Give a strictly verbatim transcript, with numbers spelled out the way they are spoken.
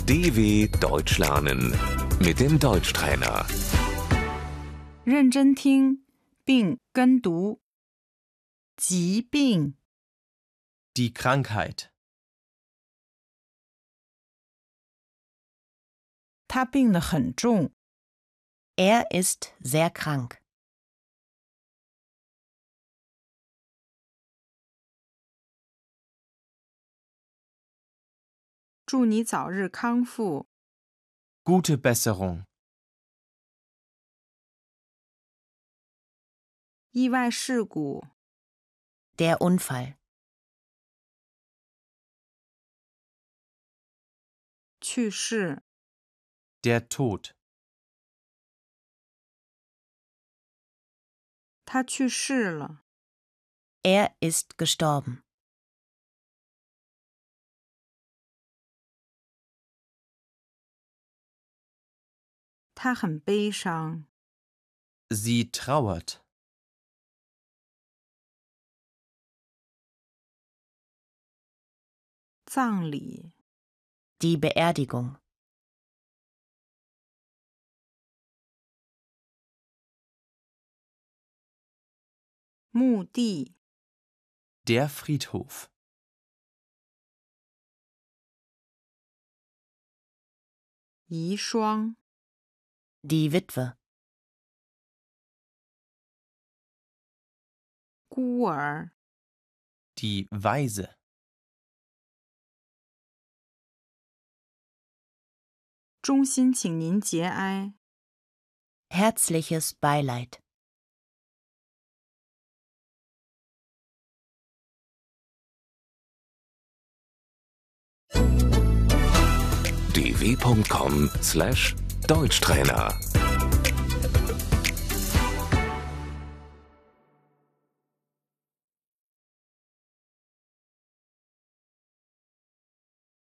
D W Deutsch lernen mit dem Deutschtrainer. 认真听并跟读。疾病， Die Krankheit. 他病得很重。 Er ist sehr krank. 祝你早日康复。 Gute Besserung. 意外事故， Der Unfall. 去世， Der Tod. 他去世了。 Er ist gestorben. 他很悲伤。 Sie trauert. 葬礼， Die Beerdigung. 墓地， Der Friedhof. 遗孀， Die Witwe. 孤儿， Die Waise. 衷心请您节哀。 Herzliches Beileid. d w punkt com slash Deutschtrainer